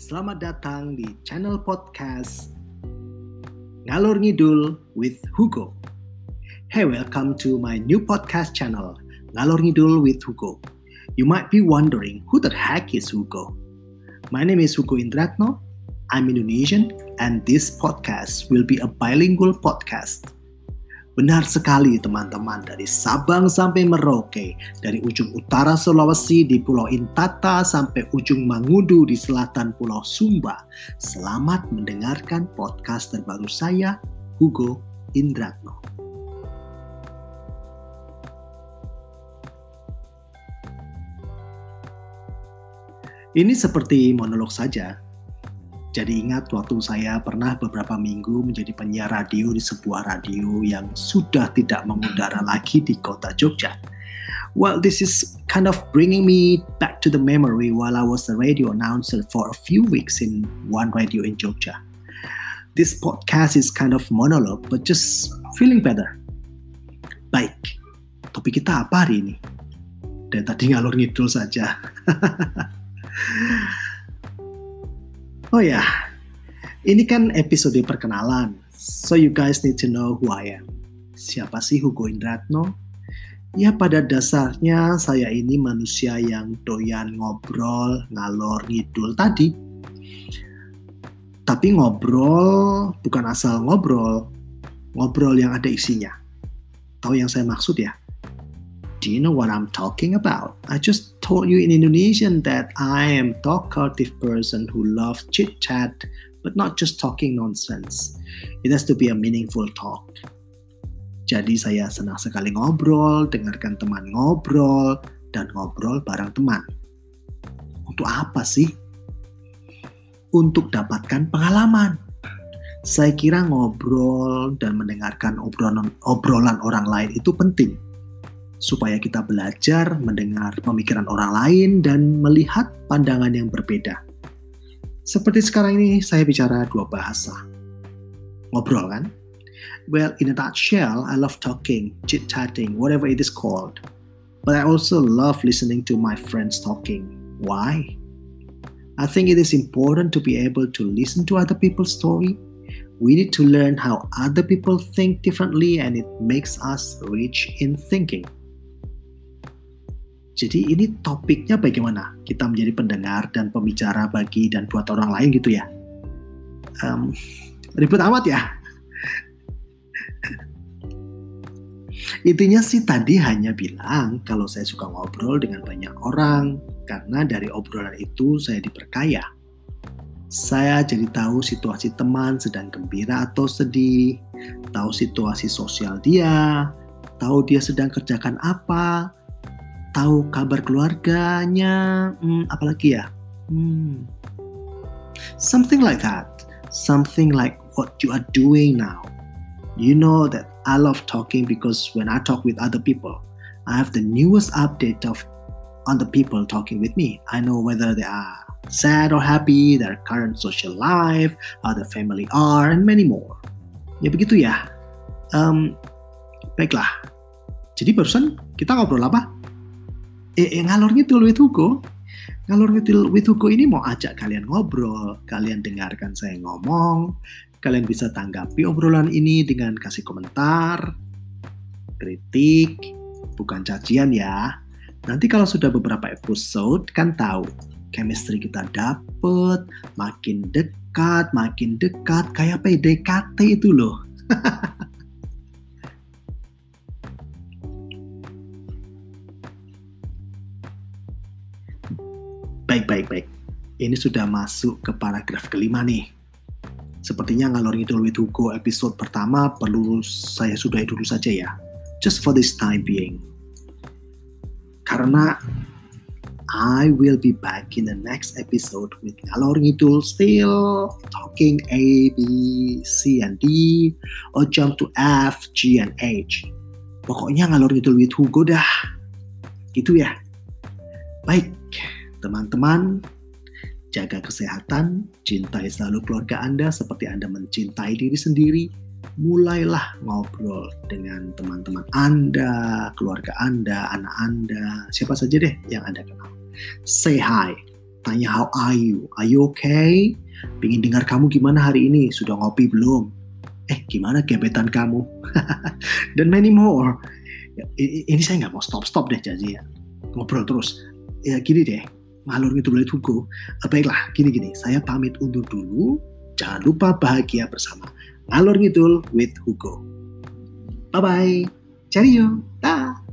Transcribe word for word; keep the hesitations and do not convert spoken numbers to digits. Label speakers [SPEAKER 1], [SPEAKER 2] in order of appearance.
[SPEAKER 1] Selamat datang di channel podcast Ngalor Ngidul with Hugo. Hey, welcome to my new podcast channel, Ngalor Ngidul with Hugo. You might be wondering, who the heck is Hugo? My name is Hugo Indratno. I'm Indonesian, and this podcast will be a bilingual podcast. Benar sekali teman-teman, dari Sabang sampai Merauke, dari ujung utara Sulawesi di Pulau Intata sampai ujung Mangudu di selatan Pulau Sumba. Selamat mendengarkan podcast terbaru saya, Hugo Indratno. Ini seperti monolog saja. Jadi ingat waktu saya pernah beberapa minggu menjadi penyiar radio di sebuah radio yang sudah tidak mengudara lagi di kota Jogja. Well, this is kind of bringing me back to the memory while I was a radio announcer for a few weeks in one radio in Jogja. This podcast is kind of monologue, but just feeling better. Baik, topik kita apa hari ini? Dan tadi ngalor ngidul saja. Oh ya, ini kan episode perkenalan, so you guys need to know who I am. Siapa sih Hugo Indratno? Ya pada dasarnya saya ini manusia yang doyan ngobrol, ngalor ngidul tadi. Tapi ngobrol bukan asal ngobrol, ngobrol yang ada isinya. Tahu yang saya maksud ya? Do you know what I'm talking about? I just told you in Indonesian that I am talkative person who loves chit-chat, but not just talking nonsense. It has to be a meaningful talk. Jadi saya senang sekali ngobrol, dengarkan teman ngobrol, dan ngobrol bareng teman. Untuk apa sih? Untuk dapatkan pengalaman. Saya kira ngobrol dan mendengarkan obrolan, obrolan orang lain itu penting. Supaya kita belajar mendengar pemikiran orang lain dan melihat pandangan yang berbeda. Seperti sekarang ini saya bicara dua bahasa. Ngobrol kan? Well, in a nutshell, I love talking, chit-chatting, whatever it is called. But I also love listening to my friends talking. Why? I think it is important to be able to listen to other people's story. We need to learn how other people think differently, and it makes us rich in thinking. Jadi ini topiknya bagaimana kita menjadi pendengar dan pembicara bagi dan buat orang lain gitu ya. Um, ribet amat ya. Intinya sih tadi hanya bilang kalau saya suka ngobrol dengan banyak orang karena dari obrolan itu saya diperkaya. Saya jadi tahu situasi teman sedang gembira atau sedih, tahu situasi sosial dia, tahu dia sedang kerjakan apa, tahu kabar keluarganya, hmm, apalagi ya? Hmm. Something like that. Something like what you are doing now. You know that I love talking because when I talk with other people, I have the newest update of on the people talking with me. I know whether they are sad or happy, their current social life, how their family are, and many more. Ya begitu ya. Um, baiklah. Jadi barusan kita ngobrol apa? Eh, eh ngalor ngidul with Hugo. Ngalor ngidul with Hugo ini mau ajak kalian ngobrol, kalian dengarkan saya ngomong, kalian bisa tanggapi obrolan ini dengan kasih komentar, kritik, bukan cacian ya. Nanti kalau sudah beberapa episode kan tahu, chemistry kita dapet, makin dekat, makin dekat, kayak P D K T itu loh. Baik, baik, baik. Ini sudah masuk ke paragraf kelima nih. Sepertinya ngalor ngidul with Hugo episode pertama perlu saya sudahi dulu saja ya. Just for this time being. Karena I will be back in the next episode with ngalor ngidul still talking A, B, C, and D, or jump to F, G, and H. Pokoknya ngalor ngidul with Hugo dah. Gitu ya. Baik. Teman-teman, jaga kesehatan, cintai selalu keluarga Anda seperti Anda mencintai diri sendiri. Mulailah ngobrol dengan teman-teman Anda, keluarga Anda, anak Anda, siapa saja deh yang Anda kenal. Say hi. tanya how are you, are you okay? Pengen dengar kamu gimana hari ini, sudah ngopi belum? Eh gimana gebetan kamu? Dan many more. Ya, ini saya nggak mau stop-stop deh jadi ya. Ngobrol terus. Ya gini deh, ngalur ngidul with Hugo. Baiklah, gini-gini, saya pamit undur dulu. Jangan lupa bahagia bersama. Ngalur ngidul with Hugo. Bye-bye. Cheerio. Dah.